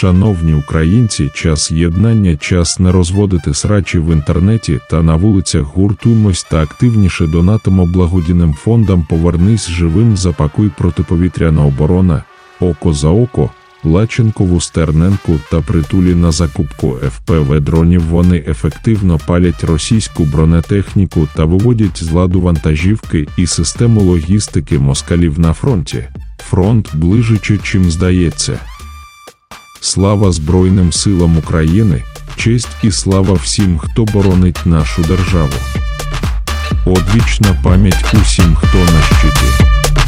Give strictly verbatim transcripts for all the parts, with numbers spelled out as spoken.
Шановні українці, час єднання, час не розводити срачі в інтернеті та на вулицях. Гуртуймось та активніше донатимо благодійним фондам. Повернись живим, запакуй протиповітряна оборона, око за око, Лаченкову, Стерненку та Притулі на закупку еф пі ве-дронів. Вони ефективно палять російську бронетехніку та виводять з ладу вантажівки і систему логістики москалів на фронті. Фронт ближче, чим здається. Слава Збройним силам України, честь і слава всім, хто боронить нашу державу. Одвічна пам'ять усім, хто на щиті.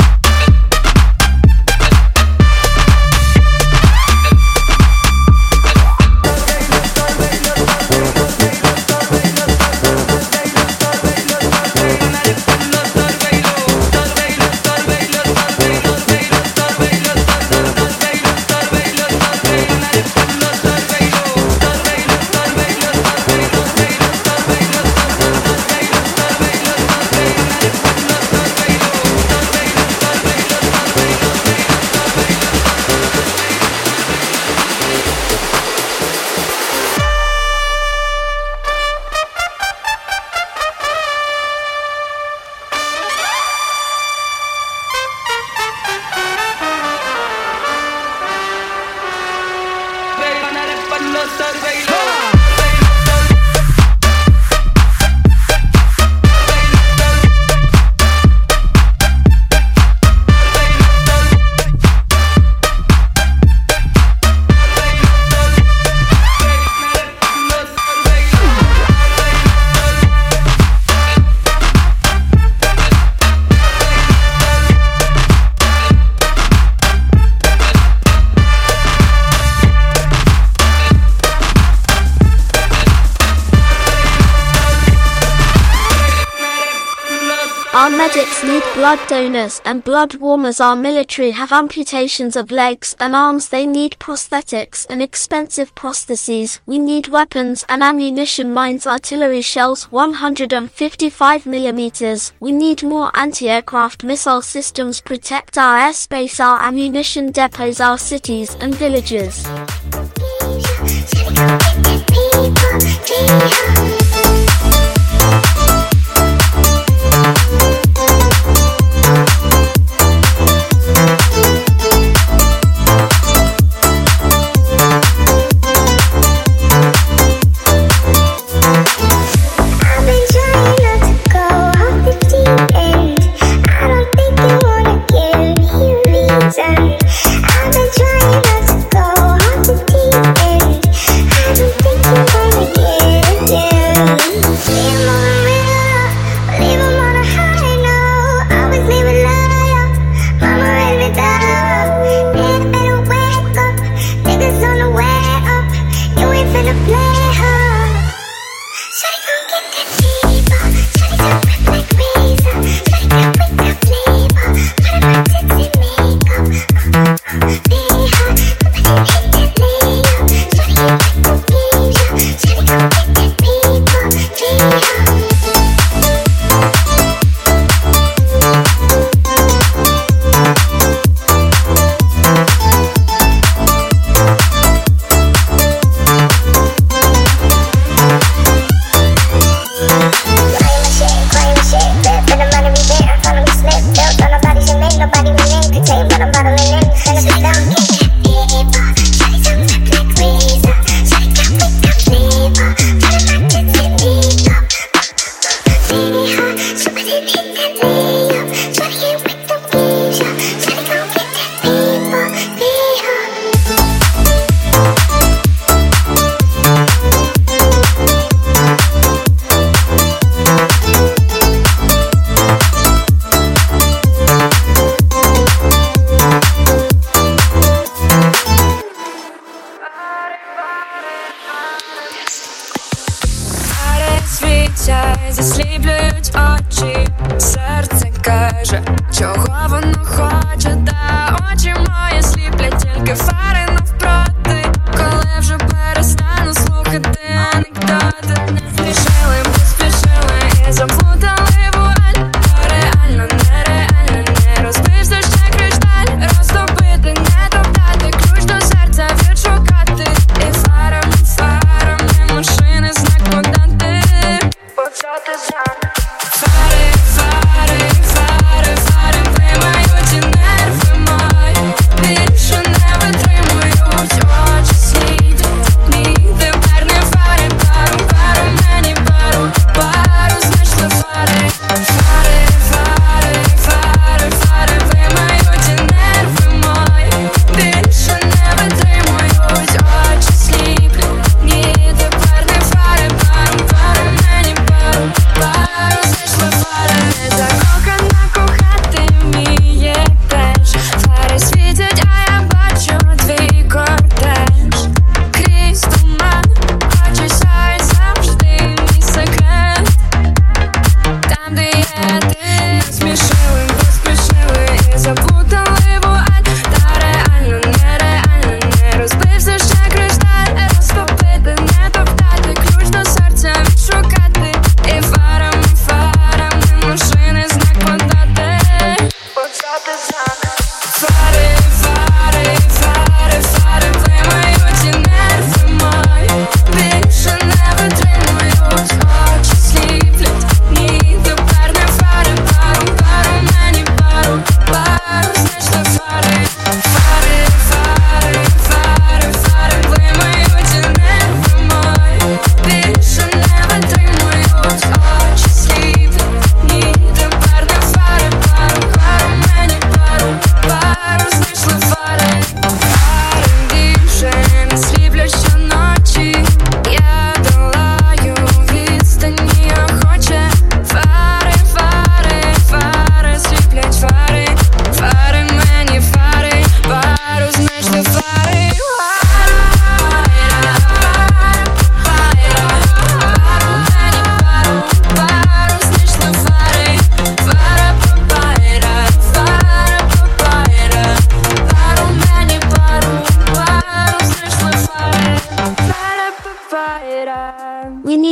Our medics need blood donors and blood warmers. Our military have amputations of legs and arms. They need prosthetics and expensive prostheses. We need weapons and ammunition, mines, artillery shells one hundred fifty-five millimeters. We need more anti-aircraft missile systems. Protect our airspace, our ammunition depots, our cities and villages. Засліплюють очі, серце каже, чого воно хоче, та очі мої сліплять тільки фари навпроти. Коли вже перестану слухати анекдоти, не спішили, поспішили і заплутали вуаль. То реально, нереально, не розбився ще кришталь. Розтопити, не топтати, ключ до серця відшукати.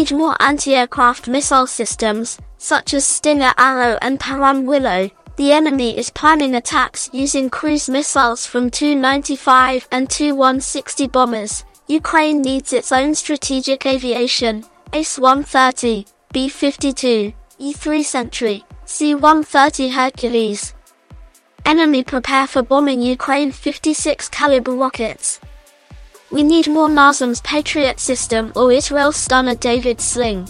need more anti-aircraft missile systems, such as Stinger Arrow and Param Willow. The enemy is planning attacks using cruise missiles from Tu ninety-five and Tu one sixty bombers. Ukraine needs its own strategic aviation, A S one thirty, B fifty-two, E three Sentry, C one thirty Hercules. Enemy prepare for bombing Ukraine fifty-six caliber rockets. We need more NASAMS Patriot system or Israel Stunner David Sling.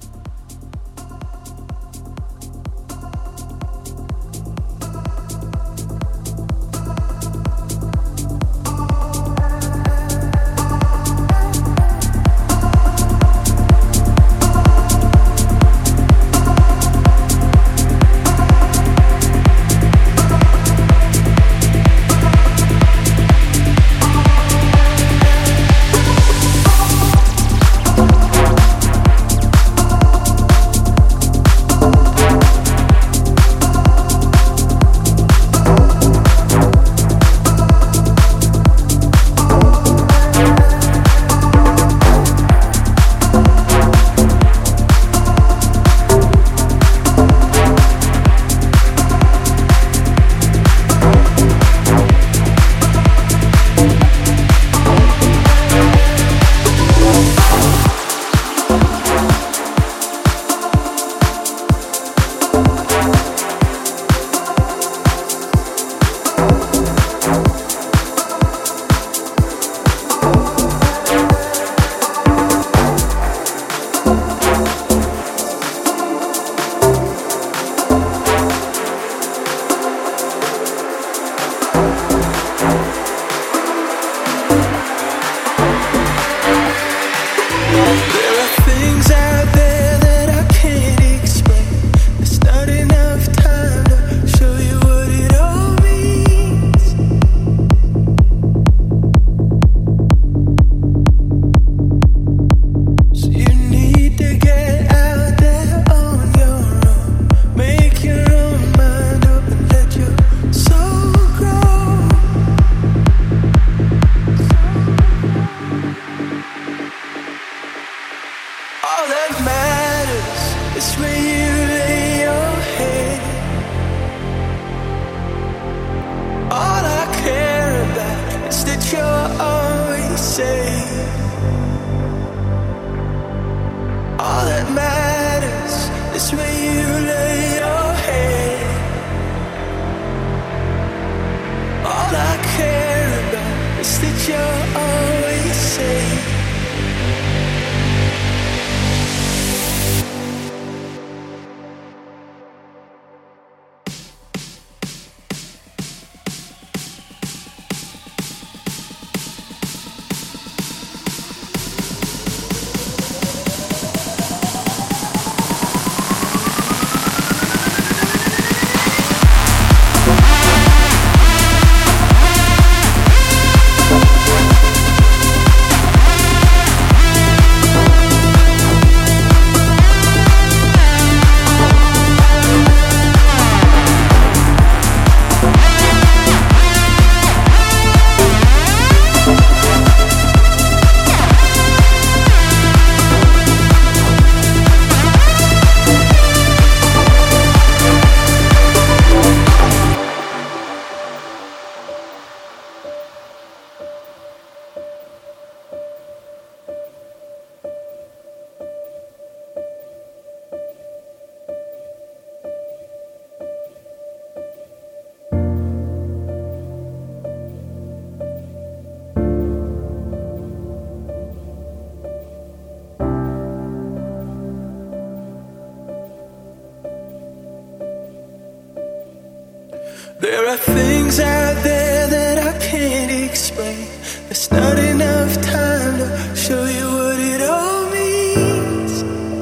There are things out there that I can't explain. There's not enough time to show you what it all means.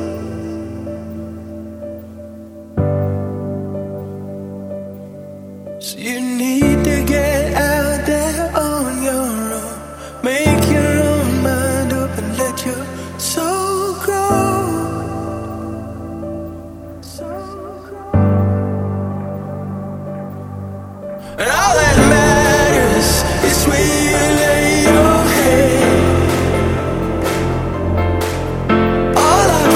So you need to get out there on your own. Make your own mind up and let your soul grow. Soul grow. And all that matters is where you lay your head. All I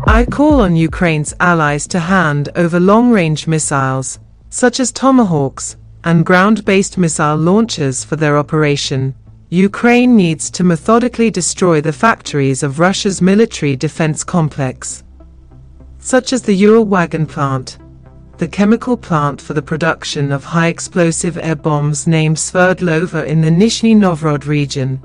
I call on Ukraine's allies to hand over long-range missiles, such as Tomahawks, and ground-based missile launchers for their operation. Ukraine needs to methodically destroy the factories of Russia's military defense complex, such as the Uralwagon plant, the chemical plant for the production of high-explosive air bombs named Sverdlova in the Nizhny Novgorod region.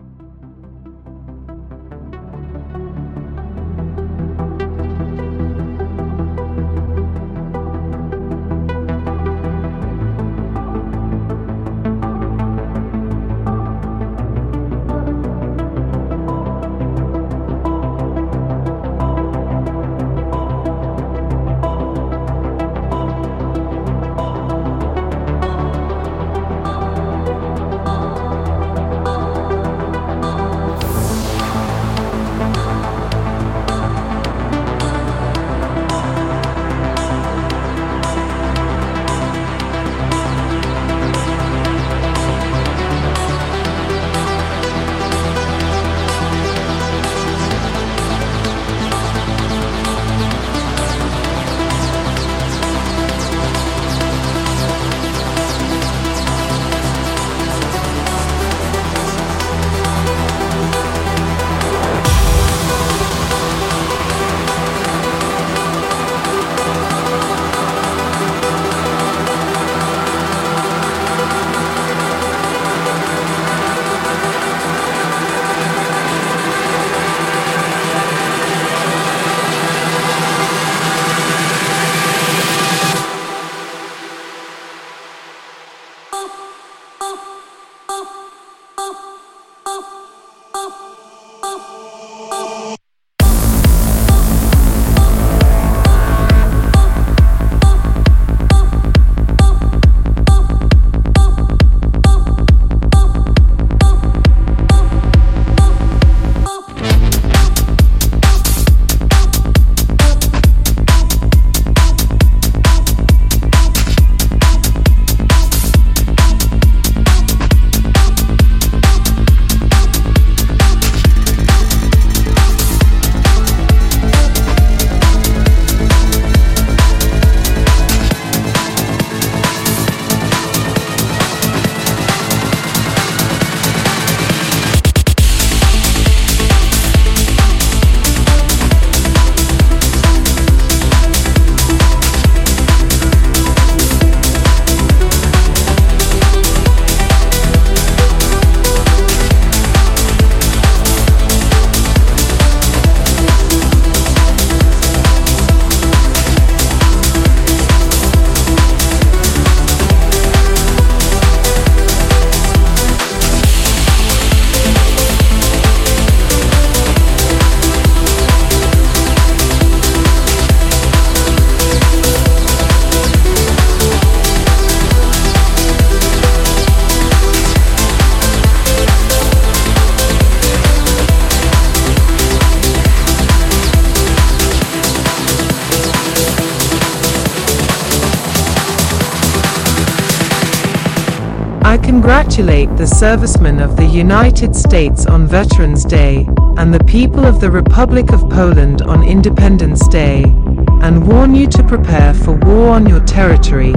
I congratulate the servicemen of the United States on Veterans Day, and the people of the Republic of Poland on Independence Day, and warn you to prepare for war on your territory.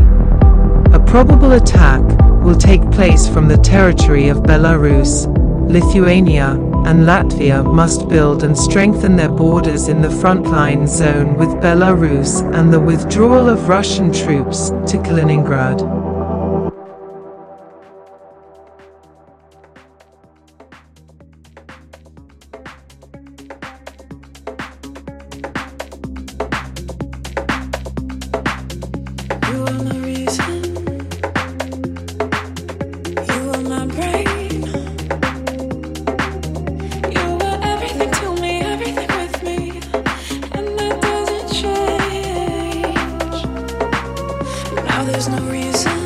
A probable attack will take place from the territory of Belarus. Lithuania and Latvia must build and strengthen their borders in the frontline zone with Belarus and the withdrawal of Russian troops to Kaliningrad. There's no reason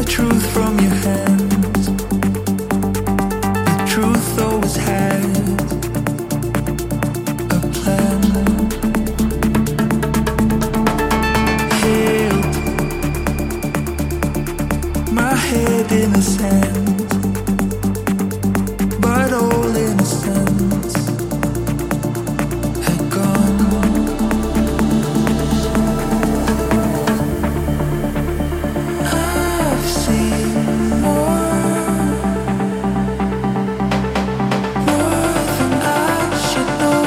truth from your hands. The truth always had a plan. Held my head in the sand, but all innocence had gone. I've seen more, more than I should know.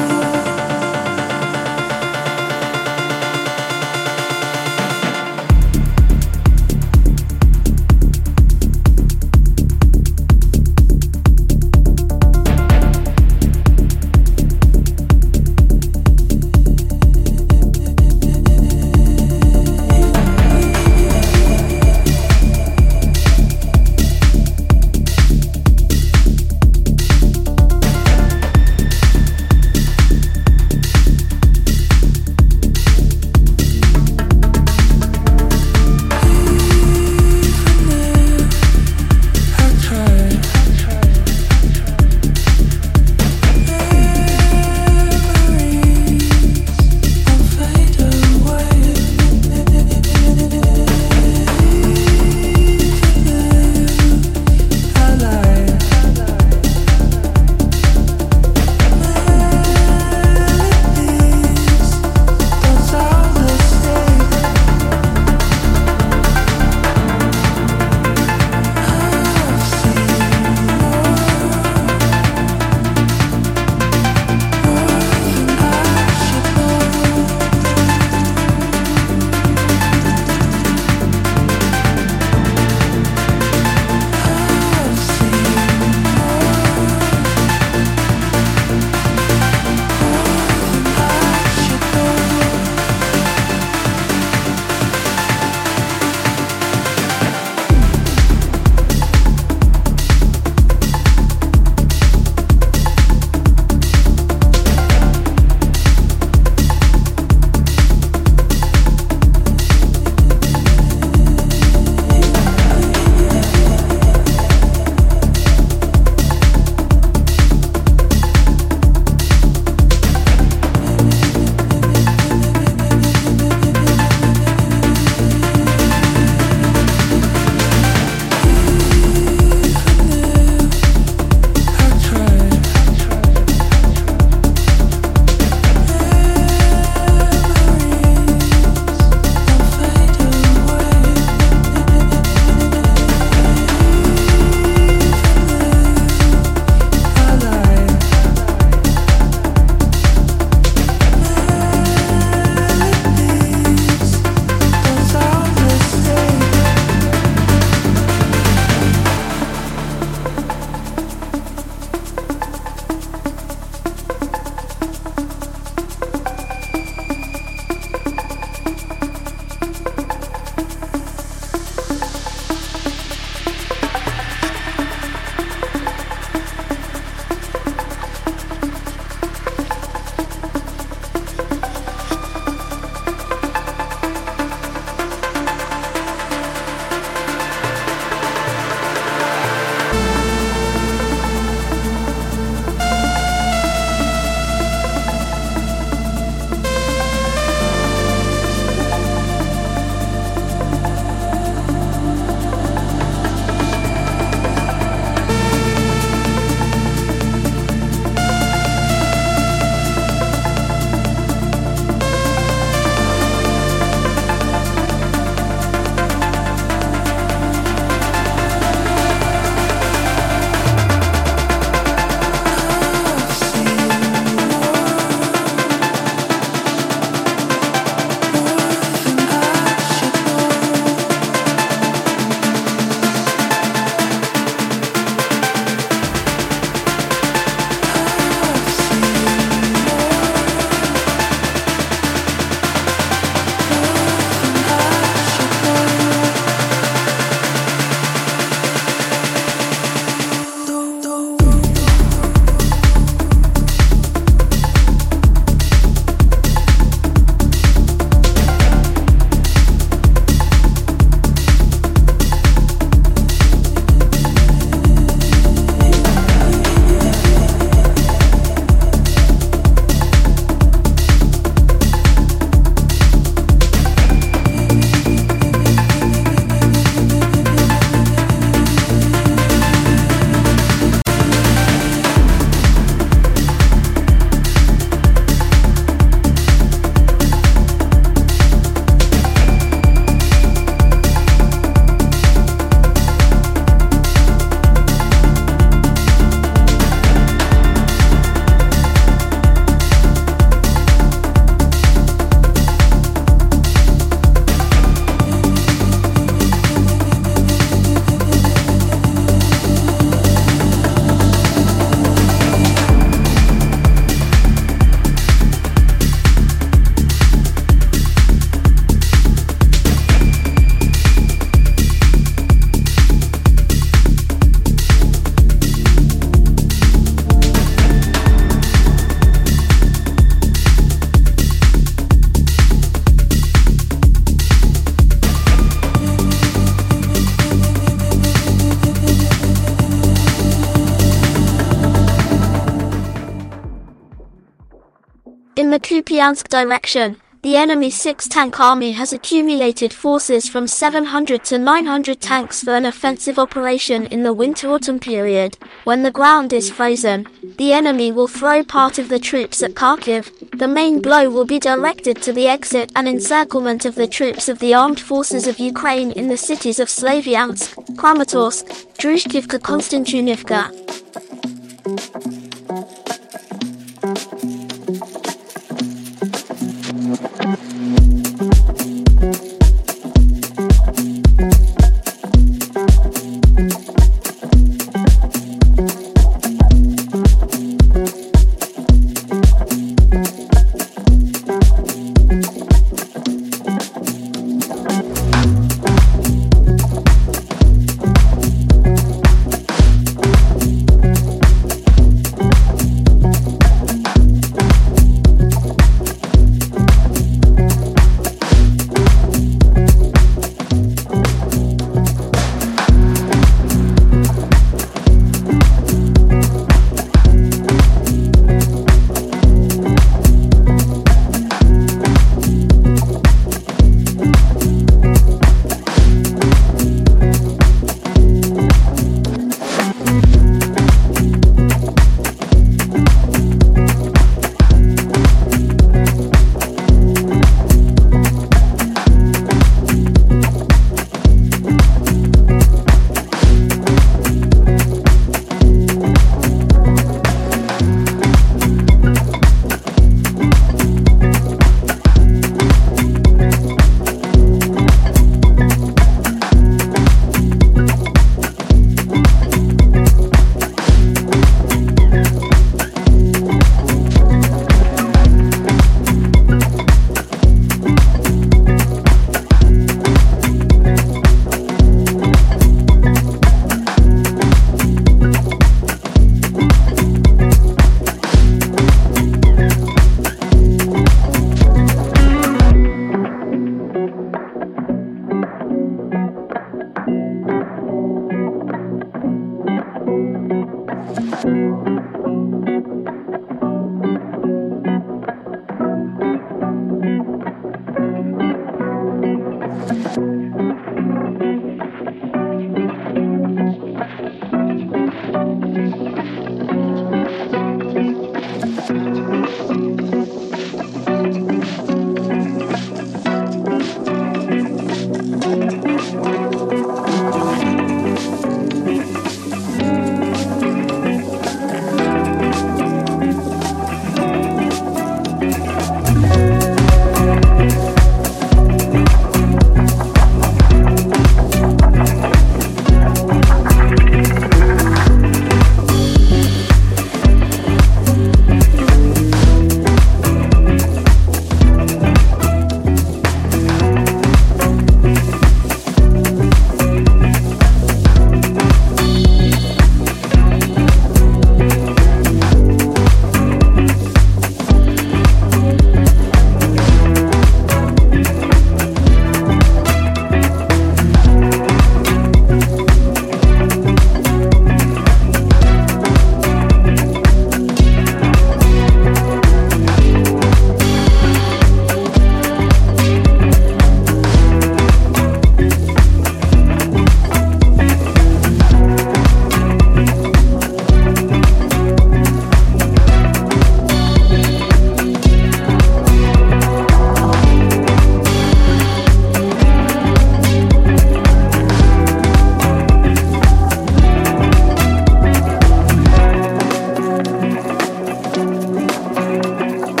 the Kupiansk direction, the enemy six-tank army has accumulated forces from seven hundred to nine hundred tanks for an offensive operation in the winter-autumn period. When the ground is frozen, the enemy will throw part of the troops at Kharkiv. The main blow will be directed to the exit and encirclement of the troops of the armed forces of Ukraine in the cities of Slavyansk, Kramatorsk, Druzhkivka, Konstantinivka.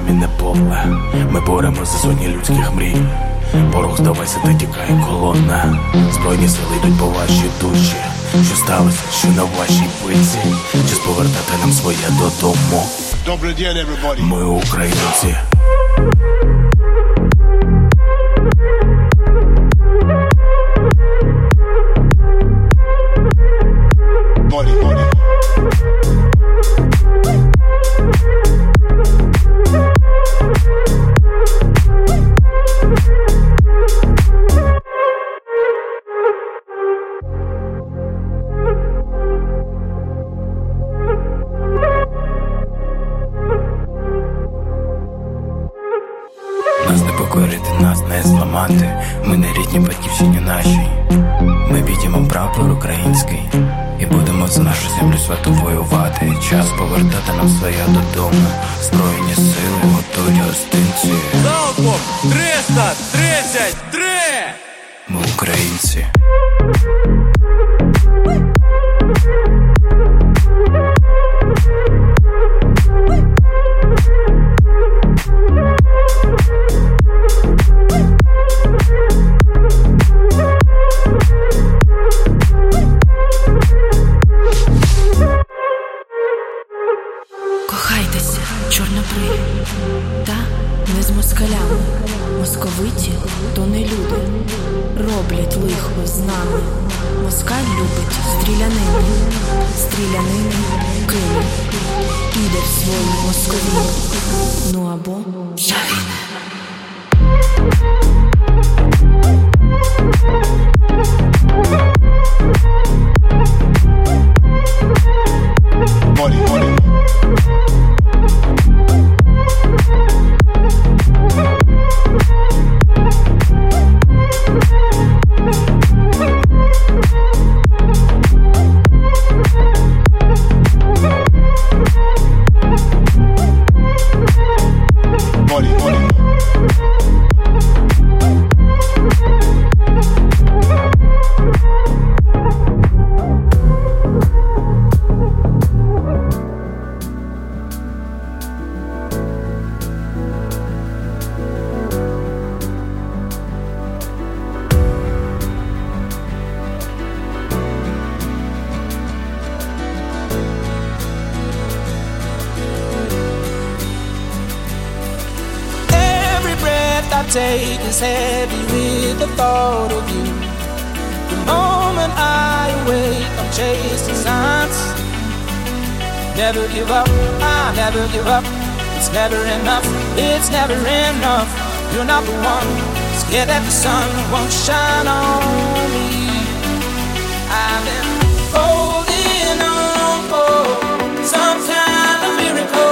мінне поле. Ми боремося за сотні людських мрій. Ворог, здавайся, та тікає колона. Збройні сили йдуть по вашій душі. Що сталося, що на вашій пиці? Час повертати нам своє додому. Добрий день, everybody. Ми українці. Body, body. Нас не покорити, нас не зламати. Ми не рідні батьківщині нашій. Ми підіймемо прапор український і будемо за нашу землю святу воювати. Час повертати нам своє додому. Збройні сили готують гостинці. Залпом триста тридцять три! Ми українці. Кохайтеся, чорнобриві, та не з москалями. Московиті то не люди, роблять лихо з нами. Москаль любить стрілянину, стрілянину кине, піде в свою Московію, ну або загине. Body, body. Body, body. Take is heavy with the thought of you. The moment I awake, I'm chasing signs. Never give up, I never give up. It's never enough, it's never enough. You're not the one, scared that the sun won't shine on me. I've been holding on for some kind of miracle.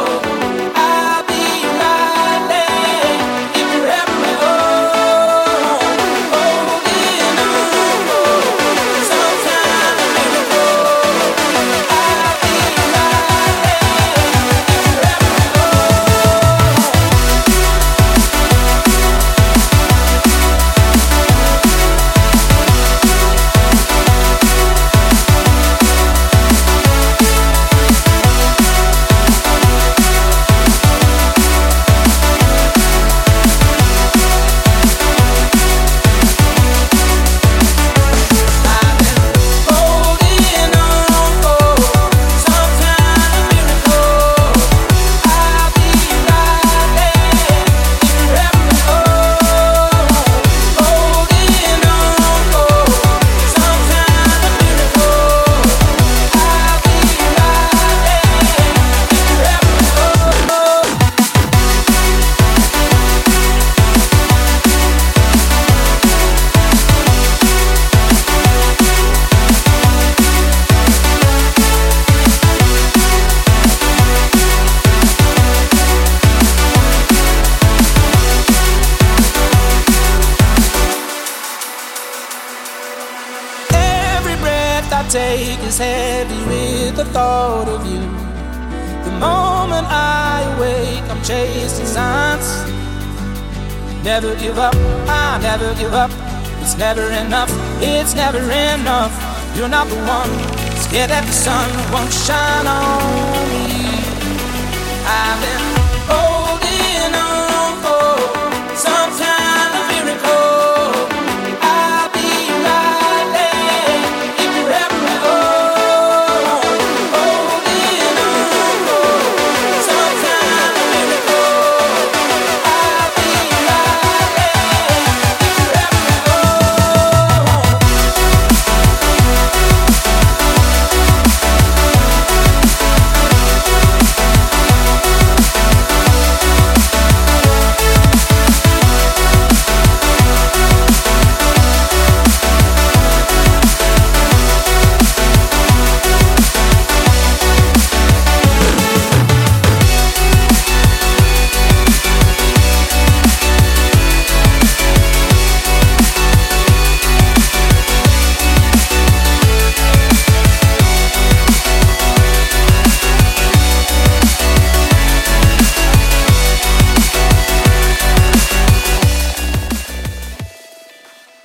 Take is heavy with the thought of you. The moment I awake, I'm chasing signs. Never give up, I never give up. It's never enough, it's never enough. You're not the one, scared that the sun won't shine on me. I've been holding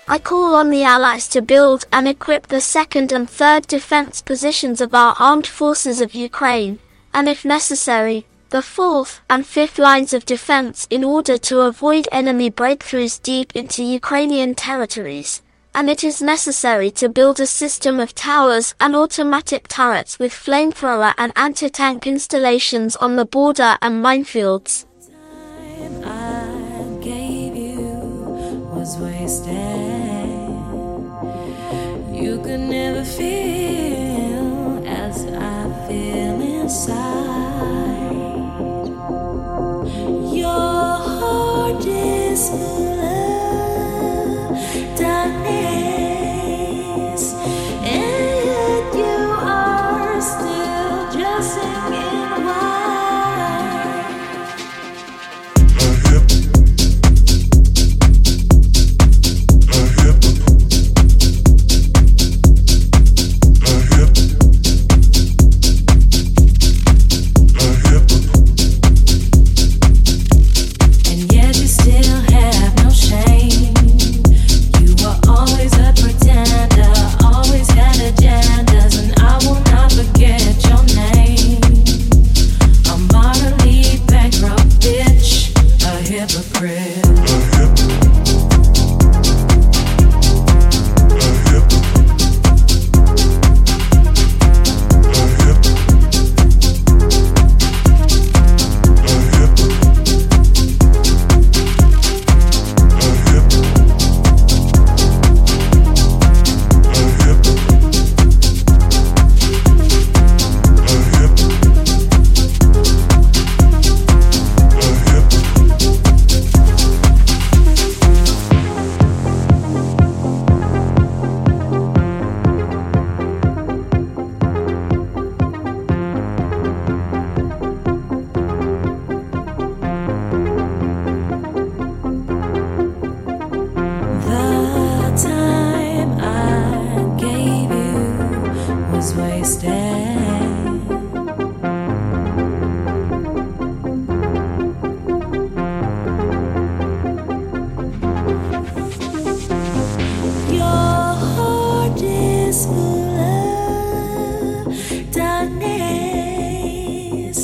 I call on the Allies to build and equip the second and third defense positions of our armed forces of Ukraine, and if necessary, the fourth and fifth lines of defense in order to avoid enemy breakthroughs deep into Ukrainian territories. And it is necessary to build a system of towers and automatic turrets with flamethrower and anti-tank installations on the border and minefields. I gave you was wasted. You could never feel as I feel inside. Your heart is full of darkness, and yet you are still just singing wide. And yet you still have no shame. You were always a pretender, always had agendas, and I will not forget your name. A morally bankrupt bitch, a hypocrite. The time I gave you was wasted. Your heart is full of darkness.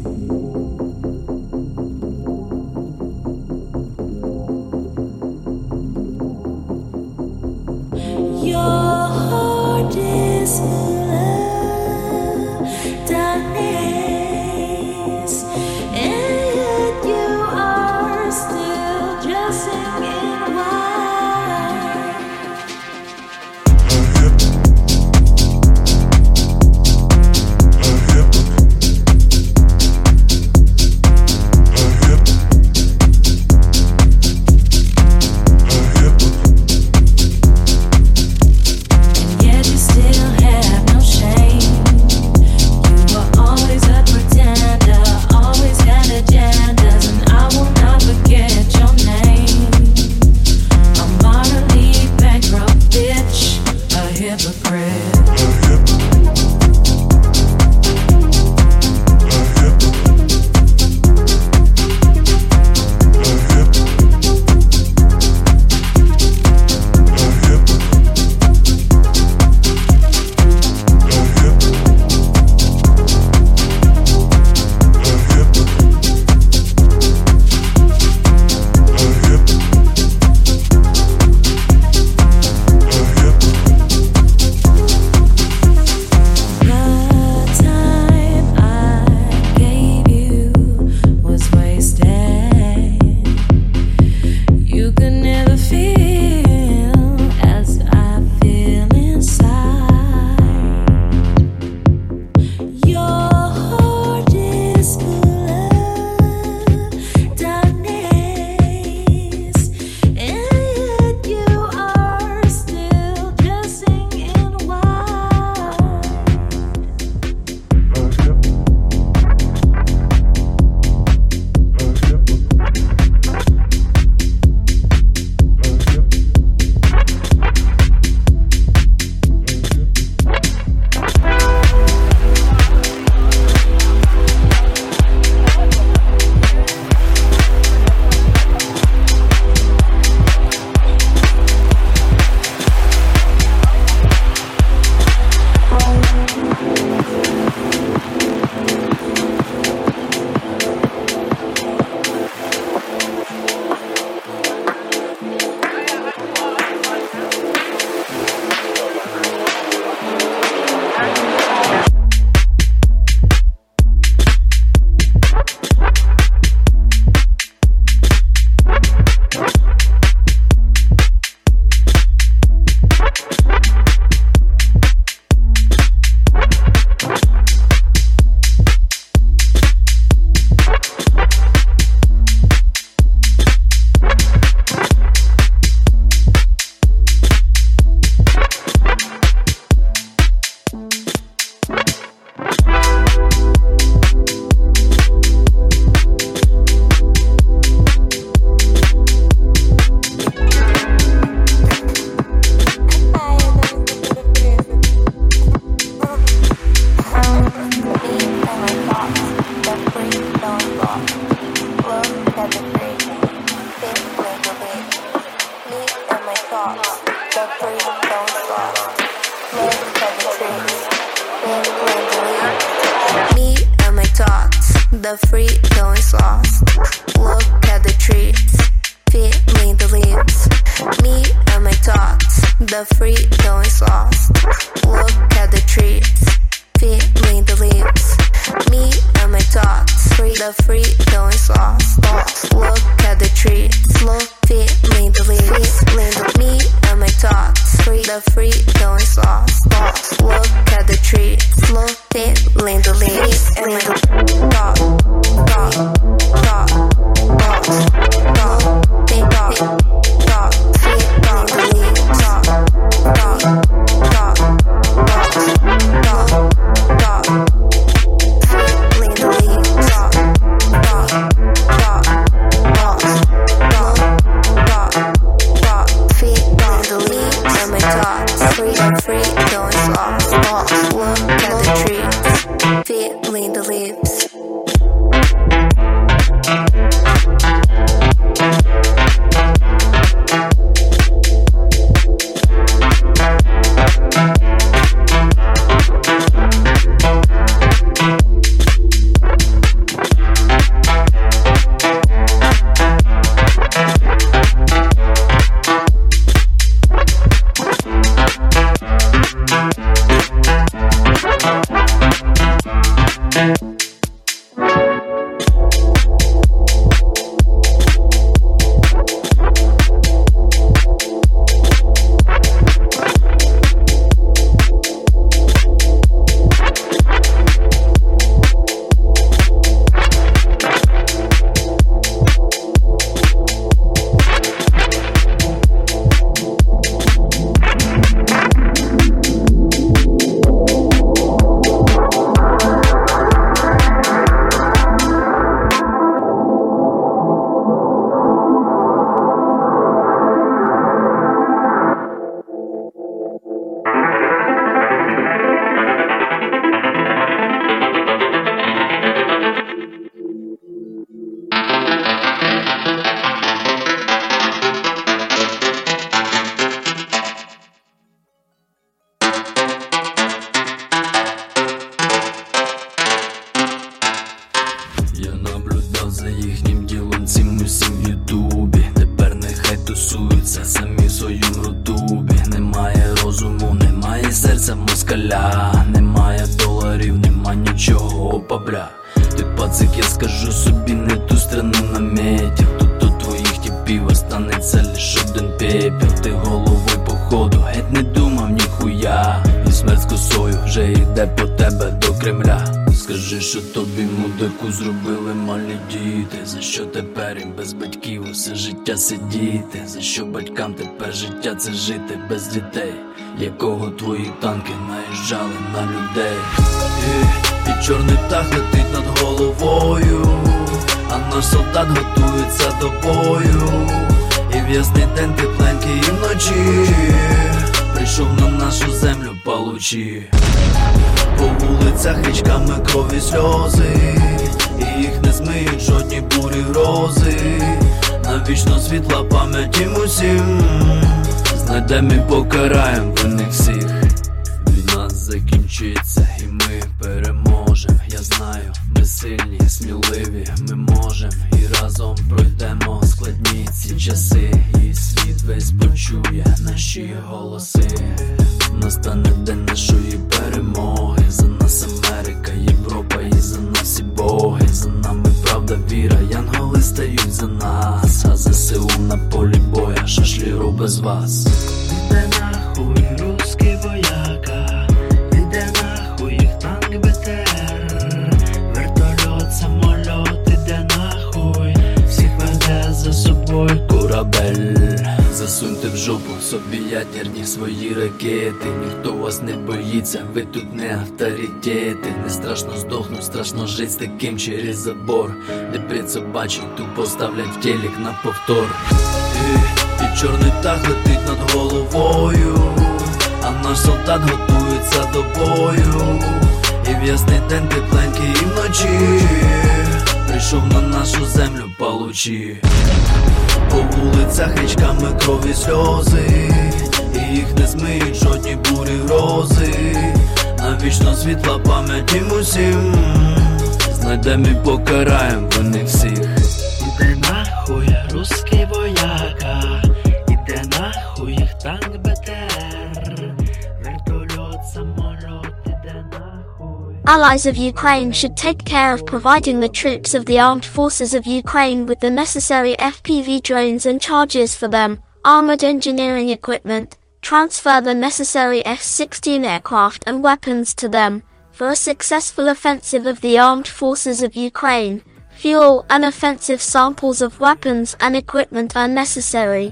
Your heart is full of darkness, and yet you are still just singing wide. And yet you still have The freedom is lost. Look at the trees, feeling the leaves. Me and my thoughts. The freedom is lost. Look at the trees, feeling the leaves. Me and my thoughts. The freedom is lost. Look at the trees, look, feeling the leaves. Me and my thoughts. The freedom is lost. Look at the trees, look, feeling the leaves. And my thoughts. Feeling the leaves. москаля. Немає доларів, нема нічого, бабля. Ти пацик, я скажу собі, не ту страну наметів. Тут у твоїх тіпів останеться лиш один пепел. Ти головою походу геть не думав ніхуя. І смерть з косою вже йде по тебе до Кремля. Скажи, що тобі мудаку зробили малі діти. За що тепер їм без батьків усе життя сидіти? За що батькам тепер життя це жити без дітей? Якого твої танки наїжджали на людей? І, і чорний птах летить над головою, а наш солдат готується до бою. І в ясний день тепленький і вночі прийшов на нашу землю палучі. По вулицях річками крові сльози, і їх не змиють жодні бурі грози. Навічно світла пам'ять їм усім, знайдем і покараєм винних всіх. Війна закінчиться і ми переможем. Я знаю, ми сильні, сміливі, ми можем. І разом пройдемо складні ці часи. І світ весь почує наші голоси. Настане день нашої перемоги. За нас Америка, Європа і за нас всі боги. За нами правда, віра, янголи стають за нас. А ЗСУ на полі боя, шашліру без вас. Іде нахуй русський вояка, іде нахуй їх танк БТР, вертольот, самоліт, іде нахуй, всіх веде за собою корабель. Засуньте в жопу собі ядерні свої ракети. Ніхто вас не боїться, ви тут не авторитети. Не страшно здохнуть, страшно жить з таким через забор, де п'ять собачок тупо ставлять в телек на повтор. І, і чорний птах летить над головою, а наш солдат готується до бою. І в ясний день тепленький і вночі прийшов на нашу землю палучі. По вулицях річками крові сльози, вічно світла пам'ять їм усім. Знайдем і покараєм вони всіх. Іде нахуй русський вояка, іде нахуй їх танк БТР, вертольот, самоліт, іде нахуй. Allies of Ukraine should take care of providing the troops of the armed forces of Ukraine with the necessary F P V drones and charges for them, armored engineering equipment, transfer the necessary F sixteen aircraft and weapons to them, for a successful offensive of the armed forces of Ukraine. Fuel and offensive samples of weapons and equipment are necessary.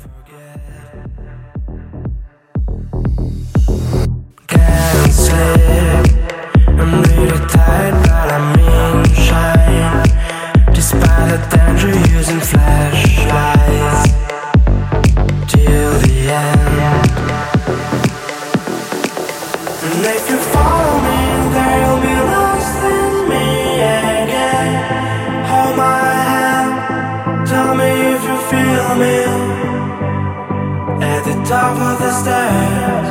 Can't sleep, I'm really tired but I mean shine. Despite the danger using flashlights till the end. And if you follow me, they'll be lost in me again. Hold my hand, tell me if you feel me. At the top of the stairs.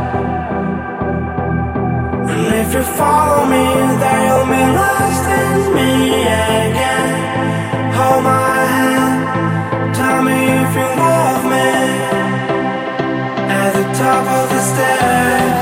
And if you follow me, they'll be lost in me again. Hold my hand, tell me if you love me. At the top of the stairs.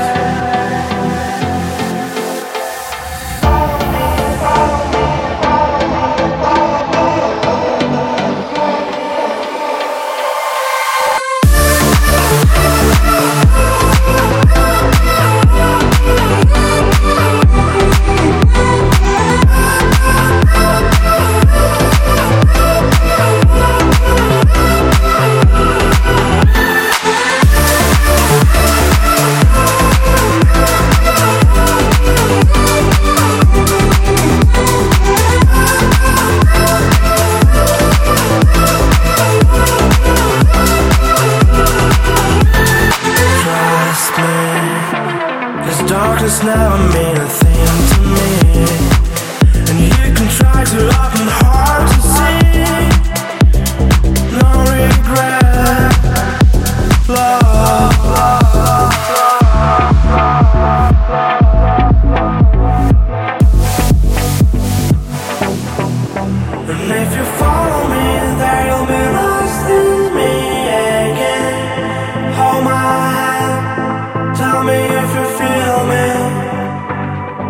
Darkness never mean a thing to me, and you can try to love and hard to see. No regret, love, love, and if you follow me, they'll be lost in me again. Hold my hand, tell me if you feel me.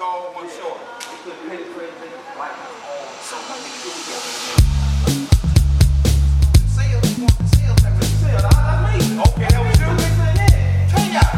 tall, one short. We couldn't pay the crazy like so much to do together. Sales, you want the sales, like the sales. That's me. Okay, that was you. Yeah. Tell ya.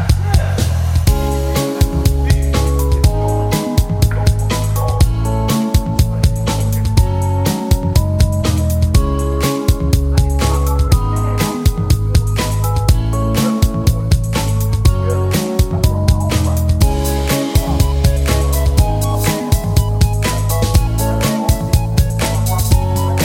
Yeah.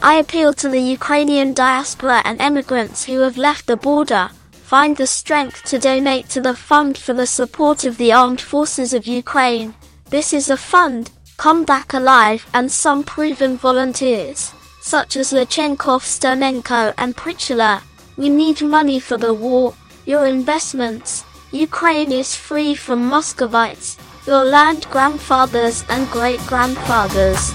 I appeal to the Ukrainian diaspora and emigrants who have left the border. Find the strength to donate to the Fund for the Support of the Armed Forces of Ukraine. This is a fund, Come Back Alive, and some proven volunteers, such as Lechenkov, Sternenko and Prichula. We need money for the war, your investments. Ukraine is free from Muscovites, your land grandfathers and great-grandfathers.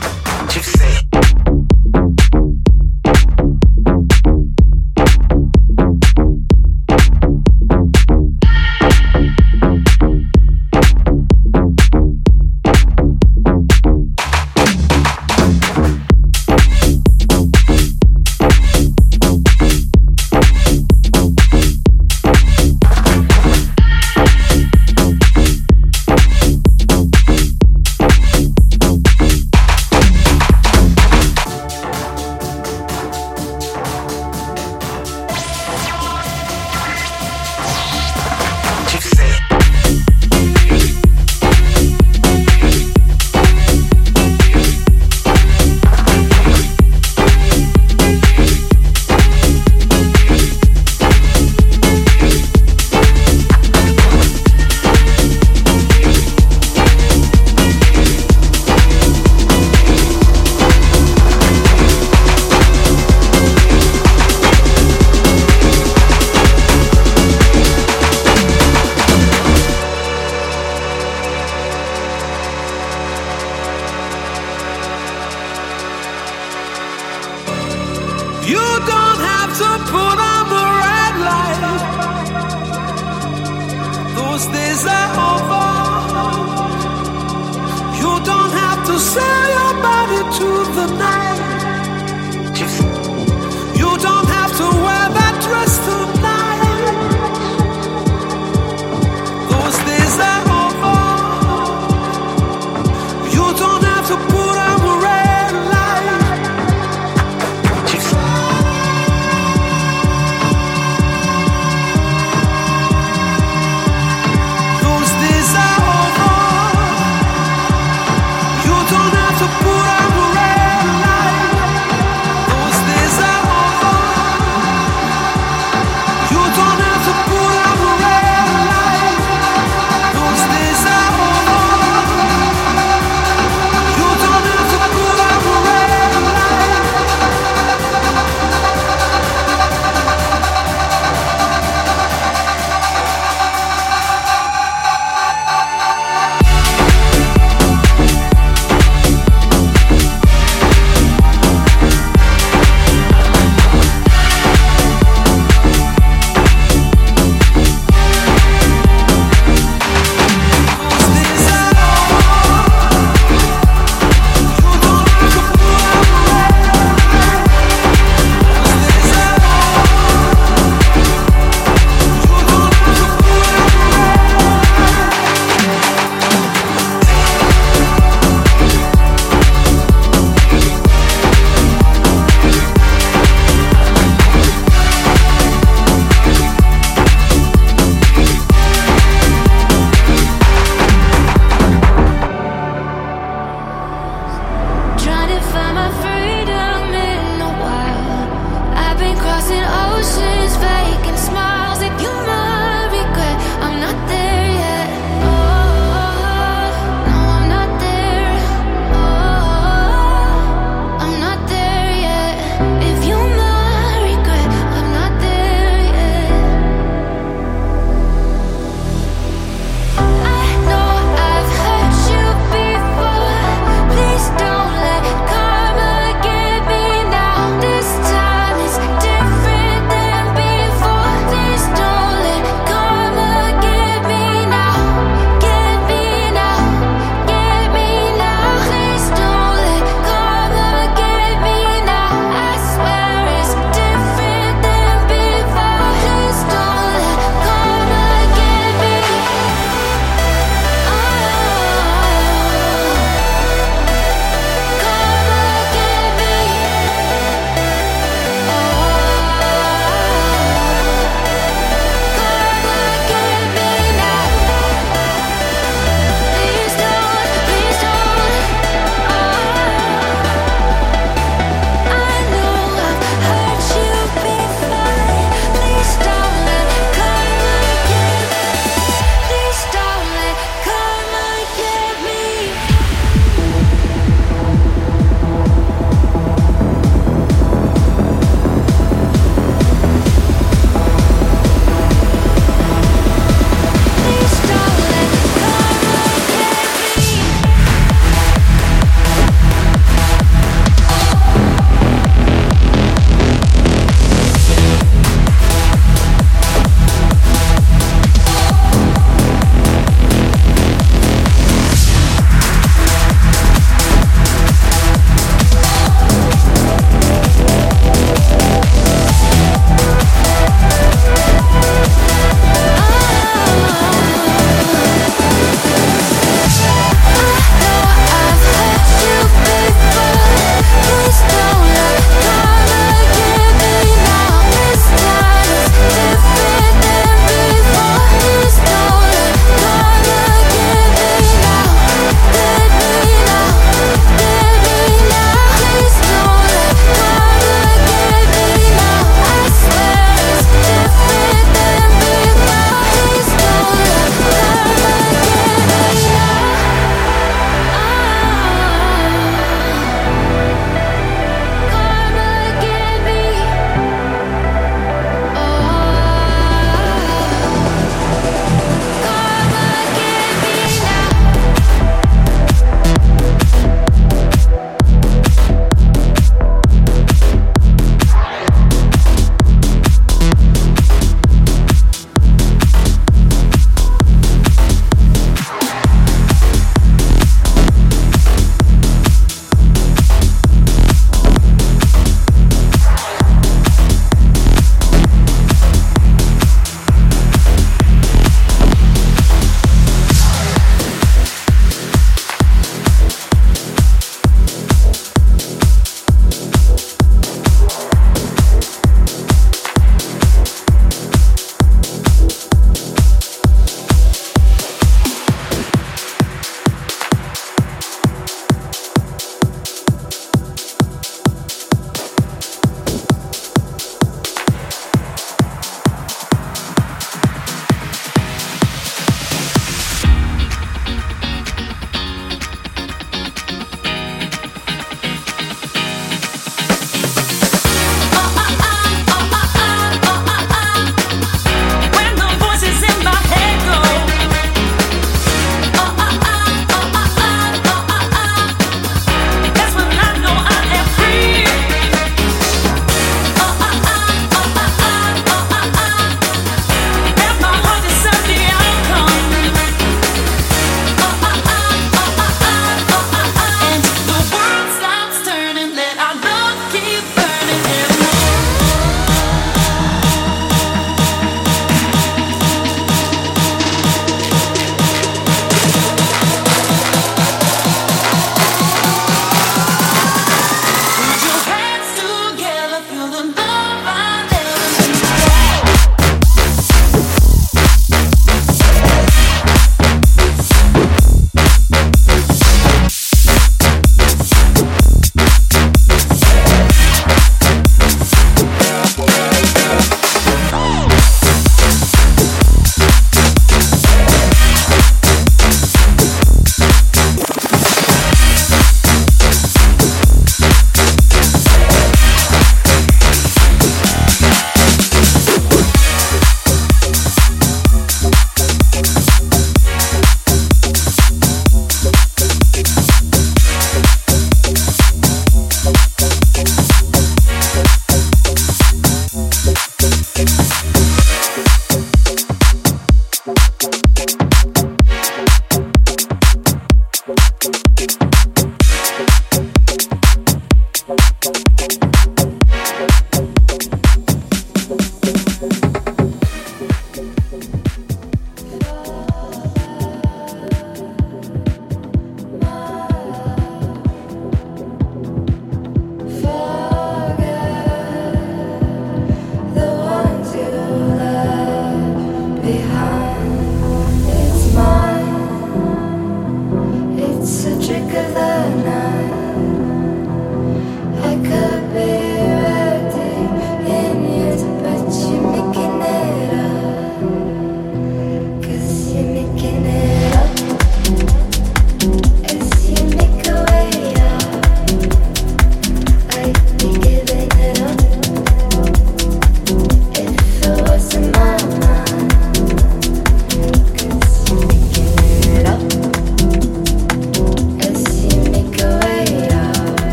You don't have to put on